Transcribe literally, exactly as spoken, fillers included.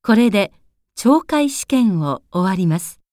これで懲戒試験を終わります。